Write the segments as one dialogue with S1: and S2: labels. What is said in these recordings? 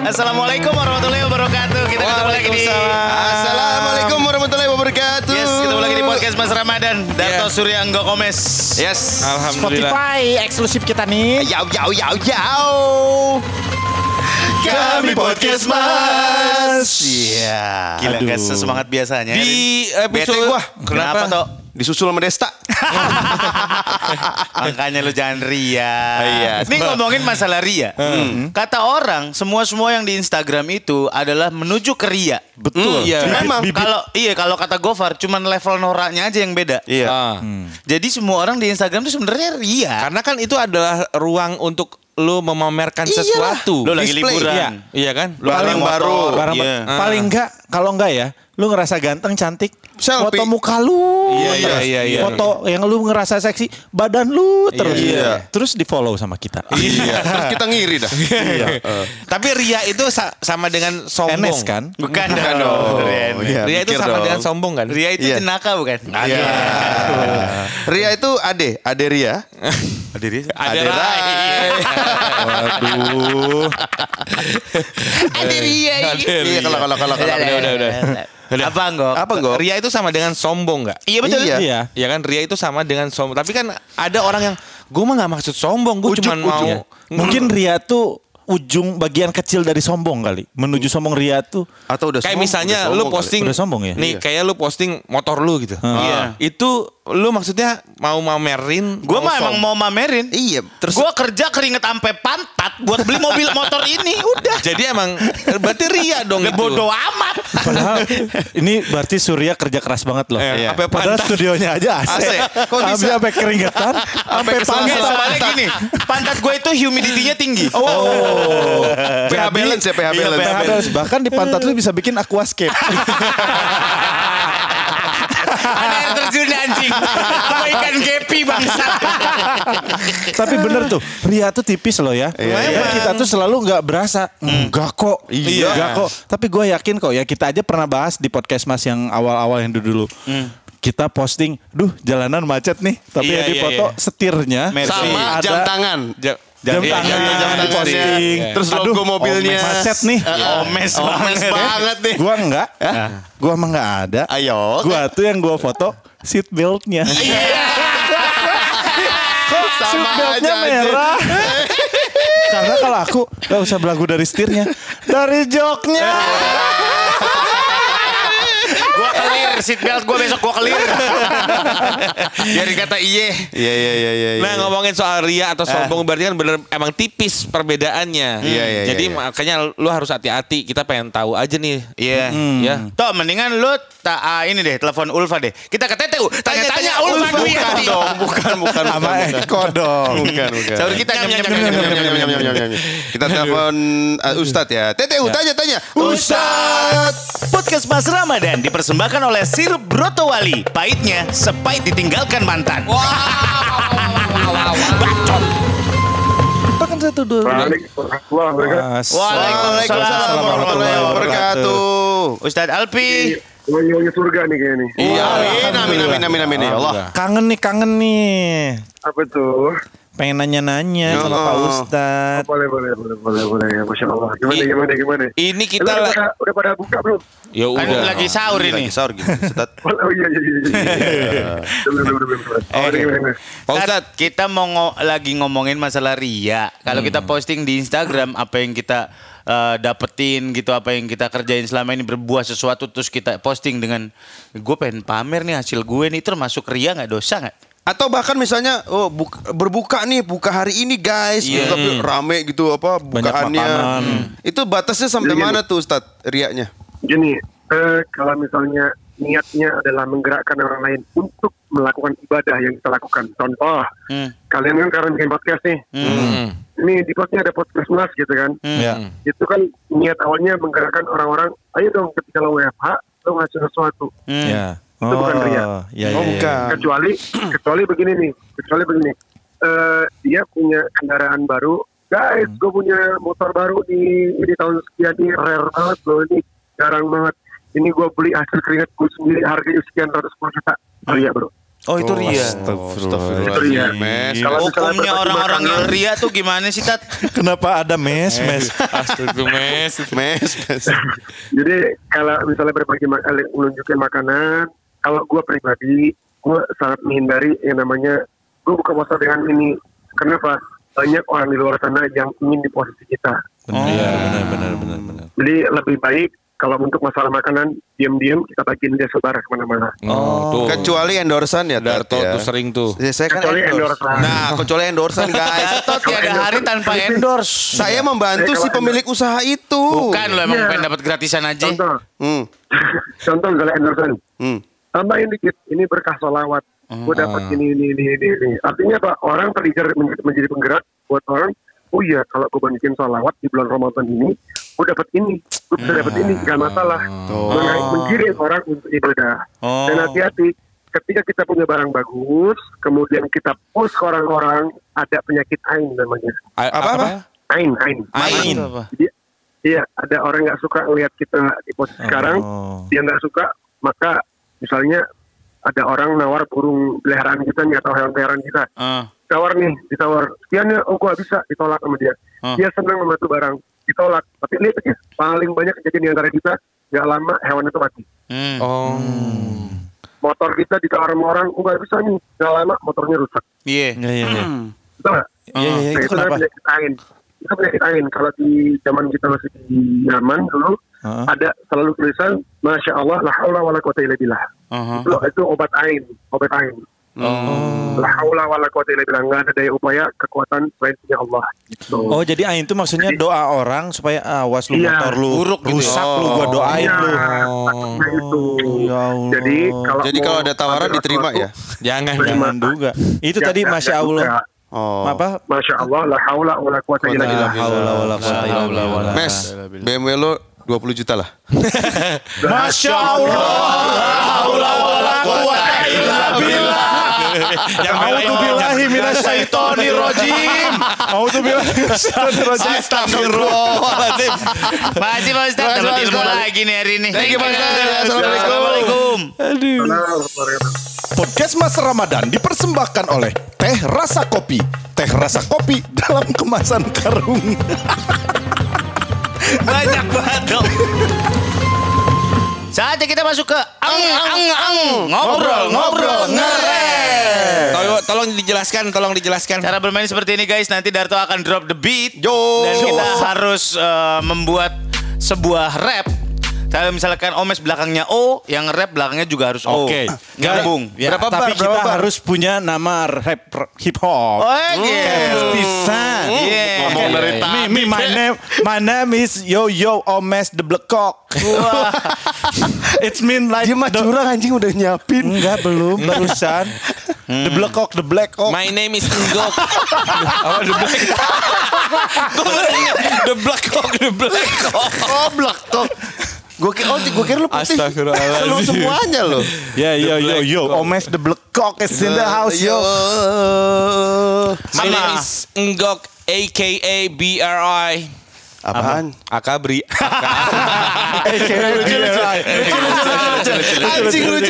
S1: Assalamualaikum warahmatullahi wabarakatuh. Kita ketemu lagi di
S2: Assalamualaikum warahmatullahi wabarakatuh.
S1: Yes, ketemu lagi di podcast Mas Ramadan. Darto Surya Angga Komes.
S2: Yes.
S3: Alhamdulillah.
S4: Spotify eksklusif kita nih.
S2: Yau. Kami podcast Mas.
S1: Iya. Gila gak sesemangat biasanya.
S3: Di
S2: Bete
S3: episode
S2: gua.
S1: Kenapa toh?
S2: Disusul sama Desta.
S1: Makanya lu jangan ria.
S2: Iya.
S1: Ini ngomongin masalah ria. Kata orang, semua yang di Instagram itu adalah menuju ke ria.
S3: Betul. Iya.
S2: Memang.
S1: Kalau kata Gofar, cuman level noraknya aja yang beda.
S2: Iya.
S1: Jadi semua orang di Instagram itu sebenarnya ria.
S3: Karena kan itu adalah ruang untuk lu memamerkan sesuatu.
S1: Lu lagi
S2: Display.
S1: liburan.
S3: Iya kan?
S1: Lu
S2: Barang
S1: pakai
S2: baru.
S1: motor.
S4: Barang
S1: Iya.
S4: paling enggak, kalau enggak ya, lu ngerasa ganteng, cantik,
S2: Selfie.
S4: foto muka lu,
S3: Iya,
S4: terus.
S3: iya.
S4: Foto yang lu ngerasa seksi, badan lu terus.
S2: Iya.
S4: Terus di follow sama kita.
S2: Iya. Terus kita ngiri dah.
S3: Tapi ria itu sama dengan sombong.
S4: NS kan?
S1: Bukan
S2: Bukan
S1: dong.
S2: dong.
S1: Ria.
S2: Iya,
S3: Ria itu
S2: mikir
S3: sama
S2: dong.
S3: dengan sombong kan?
S1: Ria itu
S2: Iya.
S1: jenaka bukan?
S3: Iya.
S2: Ria itu Ade Ria.
S3: Ada Rai.
S4: Waduh.
S1: Ada Ria.
S2: Iya kalau.
S3: Udah.
S1: Apa Ngok?
S3: Ria itu sama dengan sombong nggak?
S1: Iya betul.
S2: Iya.
S4: Iya.
S3: Ya kan Ria itu sama dengan sombong. Tapi kan ada orang yang gue mah nggak maksud sombong, gue cuma mau.
S4: Mungkin ria tuh ujung bagian kecil dari sombong kali. Menuju sombong ria tuh.
S2: Atau udah
S3: Kayak
S2: sombong,
S3: misalnya
S2: udah
S3: lu
S2: sombong
S3: posting
S4: Udah sombong ya?
S3: nih, kayak lu posting motor lu gitu.
S1: Iya.
S3: Itu lu maksudnya mau mamerin?
S1: Gue mah emang mau mamerin.
S2: kali. Iya. Terus
S1: Gue kerja keringet sampai pantat buat beli mobil motor ini. Udah.
S3: Jadi emang berarti ria dong itu.
S1: Bodoh amat.
S4: Padahal ini berarti Surya kerja keras banget loh.
S3: Iya. Apa
S4: Padahal
S3: pantat?
S4: studionya aja AC.
S2: AC. Kok bisa?
S4: Habis sampai keringetan, sampai
S1: Oke,
S4: pantat.
S1: soalnya gini, pantat gue itu humidity-nya tinggi.
S2: pH balance ya, pH balance.
S4: pH balance. Bahkan di pantat lu bisa bikin aquascape.
S1: Ada air terjun anjing. Apa ikan gepi bangsa.
S4: Tapi bener tuh, ria tuh tipis loh ya.
S2: Iya.
S4: Kita tuh selalu nggak berasa. Enggak kok.
S2: Iya.
S4: Enggak kok. Tapi gue yakin kok ya, kita aja pernah bahas di podcast Mas yang awal-awal yang dulu. Kita posting, jalanan macet nih. Tapi
S3: Iya,
S4: yang di
S3: iya,
S4: foto
S3: iya.
S4: setirnya
S2: Sama
S4: ada
S2: jam tangan.
S4: jam
S3: Iya,
S4: tangan
S3: iya, jam
S4: di
S3: tangan.
S4: posting.
S2: Terus logo mobilnya.
S4: Macet nih.
S1: Omes
S2: Omes banget nih.
S4: Gua enggak. Gua emang enggak ada.
S2: Ayo.
S4: Gua tuh yang gua foto seat beltnya. Kok
S2: Sama
S4: seat beltnya
S2: aja,
S4: merah? Karena kalau aku gak usah belagu dari setirnya, dari joknya.
S1: Gue kelir, seatbelt gue besok gue kelir. Biar dikata iye.
S2: Iya.
S3: Nah, ngomongin soal ria atau sombong berarti kan bener emang tipis perbedaannya.
S2: Iya.
S3: Jadi makanya lu harus hati-hati. Kita pengen tahu aja nih.
S1: Iya.
S3: Ya.
S1: Toh mendingan lu ini deh, telepon Ulfa deh. Kita ke TTU, tanya-tanya Ulfa
S2: Bukan
S1: Dwiyanti.
S2: dong, bukan.
S4: Sama Eko dong.
S2: Bukan.
S1: Sahur kita nyam.
S2: Kita telepon Ustadz ya. TTU tanya. Ustadz.
S1: Podcast Mas Ramadan dipersembahkan oleh sirup Brotowali. Pahitnya sepahit ditinggalkan mantan. Bacot.
S4: Bahkan satu dua.
S1: Waalaikumsalam warahmatullahi wabarakatuh. Ustadz Alpi.
S5: Wangi-wangi surga nih kayaknya nih.
S2: Iya, amin ya Allah.
S4: Kangen nih.
S5: Apa tuh?
S4: Pengen nanya-nanya sama Pak Ustadz.
S5: Boleh. Ya, Masya Allah. Gimana?
S3: Ini
S5: Lu
S3: kita
S5: udah pada buka belum?
S3: ya
S1: Kan
S3: udah.
S1: lagi sahur ini.
S2: Lagi sahur gimana Ustadz?
S5: Oh iya. Belum. Gimana?
S3: Pak Ustadz,
S1: Kita mau lagi ngomongin masalah ria. Kalau kita posting di Instagram apa yang kita dapetin gitu, apa yang kita kerjain selama ini, berbuah sesuatu terus kita posting dengan gue pengen pamer nih hasil gue nih, termasuk ria nggak, dosa nggak?
S2: Atau bahkan misalnya berbuka nih, buka hari ini guys,
S1: Iya.
S2: tapi rame gitu apa bukaannya.
S4: makanan.
S2: Itu batasnya sampai
S5: Gini.
S2: mana tuh Ustadz riaknya?
S5: Gini, kalau misalnya niatnya adalah menggerakkan orang lain untuk melakukan ibadah yang kita lakukan. Contoh, kalian kan sekarang bikin podcast nih. Ini di postnya ada podcast Mas gitu kan.
S4: Ya.
S5: Itu kan niat awalnya menggerakkan orang-orang, ayo dong ketika lo WFH, lo ngasih sesuatu.
S4: Ya.
S5: Itu bukan ria.
S4: Ya,
S2: Oh, bukan.
S5: Kecuali begini. Dia punya kendaraan baru. Guys, gue punya motor baru di tahun sekian ini, rare banget loh, ini jarang banget. Ini gue beli hasil keringat gue sendiri, harganya sekian 110 juta. Ria bro.
S1: Oh itu ria.
S5: Itu ria.
S3: Mes.
S5: Kalau misalnya
S1: Hukumnya
S5: berbagi
S1: orang-orang yang
S5: makanan,
S1: ria tuh gimana sih Tat?
S4: Kenapa ada mes?
S3: Astaga, mes.
S5: Jadi kalau misalnya menunjukin makanan, kalau gue pribadi, gue sangat menghindari yang namanya gue buka puasa dengan ini. Kenapa? Banyak orang di luar sana yang ingin di posisi kita.
S4: Iya, benar.
S5: Jadi lebih baik kalau untuk masalah makanan, diam-diam kita bagiin dia sebar kemana-mana.
S3: Tuh.
S2: Kecuali endorsan ya, Tat,
S3: Darto
S2: ya.
S3: tuh sering tuh.
S2: Ya, saya kan
S5: Kecuali
S2: endorse.
S5: endorsan.
S2: Nah, kecuali endorsan guys.
S1: Gatot tiada hari tanpa endorse.
S2: Saya membantu si pemilik usaha itu.
S1: Bukan lo emang
S5: Iya.
S1: pengen dapat gratisan aja.
S5: Contoh,
S2: Hmm.
S5: contoh misalnya endorsan.
S2: Hmm.
S5: Tambahin dikit, ini berkah sholawat. Gue dapat ini. Artinya apa? Orang trigger menjadi penggerak buat orang. Oh iya, kalau gue bikin sholawat di bulan Ramadan ini, gue dapat ini, gue bisa dapat ini, gak masalah. Menggiring orang untuk ibadah. Dan hati-hati, ketika kita punya barang bagus, kemudian kita post ke orang-orang, ada penyakit ain namanya.
S2: Apa?
S5: Ain. Jadi, iya, ada orang nggak suka ngelihat kita di posisi sekarang, dia nggak suka, maka misalnya ada orang nawar burung peliharaan kita nih atau hewan peliharaan kita. Ditawar. Sekian ya, oh gua bisa, ditolak sama dia. Dia senang membantu barang, ditolak. Tapi lihat aja, paling banyak kejadian di antara kita, nggak lama hewan itu mati. Motor kita ditawar sama orang, oh nggak bisa nih, nggak lama motornya rusak.
S1: Iya.
S5: Betul nggak?
S4: Iya, itu kenapa?
S5: penyakit ain. Itu penyakit ain. Kalau di zaman kita masih di Yaman dulu, ada selalu tulisan, Masya Allah, la haula wa la quwata illa billah. Itu obat ain. La haula wa la quwata illa billah. Nggak ada daya upaya, kekuatan selain punya Allah. Gitu.
S4: Oh, jadi ain itu maksudnya doa orang supaya awas lu
S5: Iya.
S4: motor lu
S1: Buruk gitu.
S4: rusak lu gua doain lu.
S5: Takutnya itu.
S4: Ya Allah.
S5: Jadi
S2: Kalau ada tawaran diterima ya.
S3: Jangan.
S4: Jangan juga. Itu tadi Masya Allah.
S2: Oh.
S4: Apa?
S5: Masya Allah, la haula wa la quwata illa billah.
S2: Mes, BMW lo 20 juta lah.
S4: Masya Allah. A'udzubillahi minasyaitonir rajim.
S2: Astagfirullahaladzim.
S1: Makasih Pak Ustaz, dapat ilmu lagi nih hari ini.
S2: Thank you, Pak Ustaz.
S1: Assalamualaikum.
S4: Podcast Mas Ramadan dipersembahkan oleh Teh Rasa Kopi. Teh Rasa Kopi dalam kemasan karung.
S1: Banyak banget dong. Saatnya kita masuk ke ngobrol ngeres.
S3: Tolong dijelaskan.
S1: Cara bermain seperti ini guys, nanti Darto akan drop the beat.
S2: Yo.
S1: Dan kita harus membuat sebuah rap. Kalau misalkan Omes belakangnya O, yang rap belakangnya juga harus O.
S4: Oke.
S1: Nyambung.
S4: Ya,
S2: Berapa
S4: tapi
S2: bar?
S4: kita harus punya nama rap hip hop.
S1: Oh iya.
S4: Pisan.
S1: Iya.
S2: Ngomong dari tadi.
S4: My name is Yo Omes the Black Cock. It's mean like
S2: Dia mah curang anjing udah nyiapin.
S4: Enggak, belum barusan. The Black Cock.
S3: My name is Enggok. The Black Cock.
S2: Oh, Black Cock. Gue kira lu putih.
S3: Astagfirullahaladzim.
S2: Lu semuanya lo.
S4: Ya, yo, Omes the Black Cock is in the house, yo.
S3: My name is Enggok, aka BRI.
S2: Apaan?
S3: Akabri.
S2: Anjing lucu.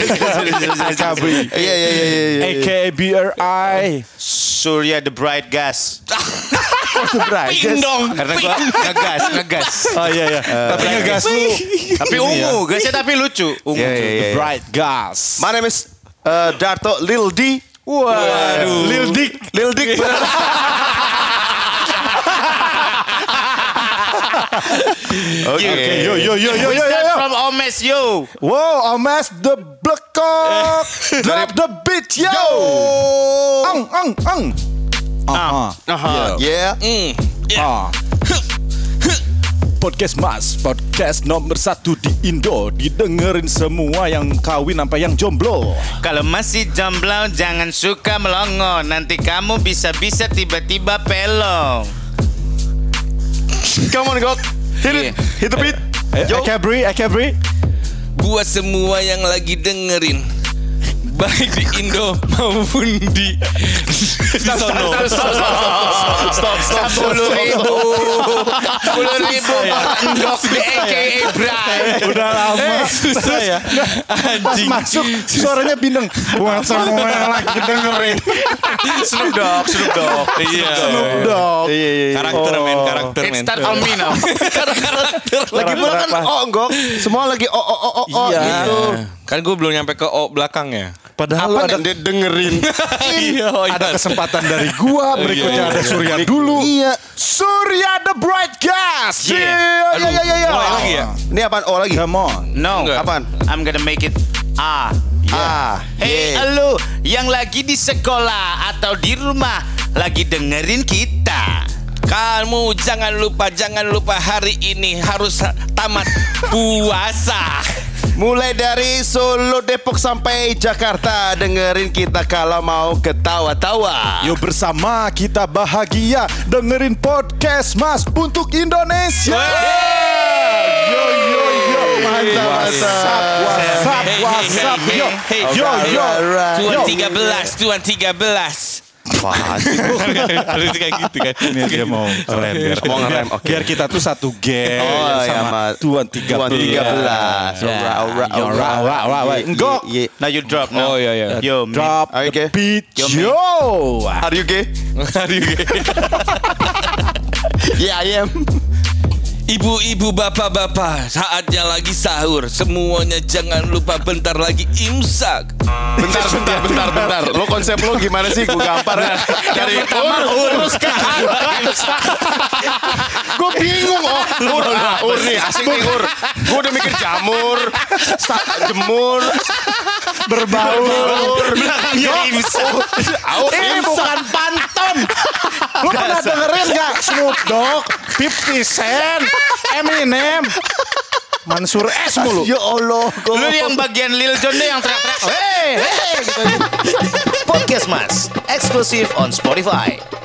S2: Iya.
S4: AKA BRI.
S1: Surya the Bright Gas.
S3: Ping dong.
S1: Karena gua ngegas.
S4: Oh iya. Tapi ngegas lu.
S1: Tapi ungu, gasnya tapi lucu. Ungu.
S2: Iya.
S4: Bright gas.
S2: My name is Darto Lil D.
S4: Waduh. Lil Dick.
S2: Bener.
S1: Okay.
S4: Yo.
S1: We start from Omes, yo.
S4: Wow, Omes the Black Cock. Drop the beat, yo. Ang.
S2: Yeah.
S4: Podcast Mas, podcast nomor 1 di Indo. Didengerin semua yang kawin sampai yang jomblo.
S1: Kalau masih jomblo jangan suka melongo. Nanti kamu bisa-bisa tiba-tiba pelong.
S2: Come on, God. Hit the beat.
S4: Akabri.
S3: Buat semua yang lagi dengerin, baik di Indo maupun di sono.
S1: Stop. 10.000 Endok aka Bray.
S4: Udah lama.
S3: Susah ya.
S4: Pas masuk suaranya bindeng. Buat semua yang lagi dengerin.
S2: Snoop Dogg.
S3: Iya.
S4: Snoop Dogg.
S3: Karakter men, karakter
S1: It
S3: men.
S1: start on me now.
S2: Lagi pula kan enggak. Semua lagi
S4: Iya.
S2: gitu.
S3: Kan gue belum nyampe ke O belakangnya.
S4: Padahal
S2: Apa
S4: ada
S2: yang dia dengerin?
S4: ada kesempatan dari gua, berikutnya ada Surya dulu.
S2: Iya.
S4: Surya the Bright Gas.
S3: Aduh, mulai lagi ya?
S2: Ini apaan? Oh lagi.
S4: Come on.
S1: No.
S3: Enggak.
S2: Apaan?
S1: I'm gonna make it Hey,
S2: yeah.
S1: lu yang lagi di sekolah atau di rumah lagi dengerin kita.
S3: Kamu jangan lupa hari ini harus tamat puasa.
S2: Mulai dari Solo, Depok sampai Jakarta, dengerin kita kalau mau ketawa-tawa.
S4: Yuk bersama kita bahagia dengerin podcast Mas untuk Indonesia. Yo yo yo, mantap mantap. WhatsApp, yo yo yo.
S3: Tuan 13. Harus kayak gitu kan.
S4: Ini dia mau keren
S2: Mau ngerem, oke.
S4: biar kita tuh satu geng
S2: Oh, iya,
S4: sama
S2: Mas.
S4: Tuan 13. Enggak.
S1: Now you drop now.
S3: Oh iya.
S1: Yo,
S4: Drop
S2: Oke.
S4: the beat. Yo.
S2: Are you gay? Yeah, I am.
S3: Ibu-ibu, bapak-bapak, saatnya lagi sahur. Semuanya jangan lupa bentar lagi imsak.
S2: Bentar. Lo konsep lo gimana sih? Gue gampar ya. Dari urus ke gue bingung. Ur nih, asik nih Ur. Gue udah mikir jamur, jemur,
S4: Berbaur.
S1: belakangnya imsak.
S4: Ini bukan pantun. Lu pernah dengerin gak Snoop Dogg, 50 Cent, Eminem, Mansur S mulu?
S2: Ya Allah.
S1: Lu yang bagian Lil Jon deh yang teriak-teriak. Hey, gitu.
S6: Podcast Mas, eksklusif on Spotify.